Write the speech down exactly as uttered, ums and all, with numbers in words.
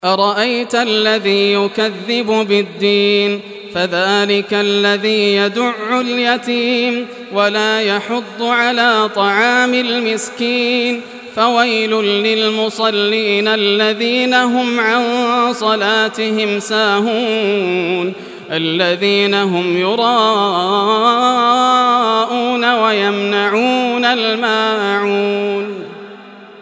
أرأيت الذي يكذب بالدين فذلك الذي يدع اليتيم ولا يحض على طعام المسكين فويل للمصلين الذين هم عن صلاتهم ساهون الذين هم يراءون ويمنعون الماء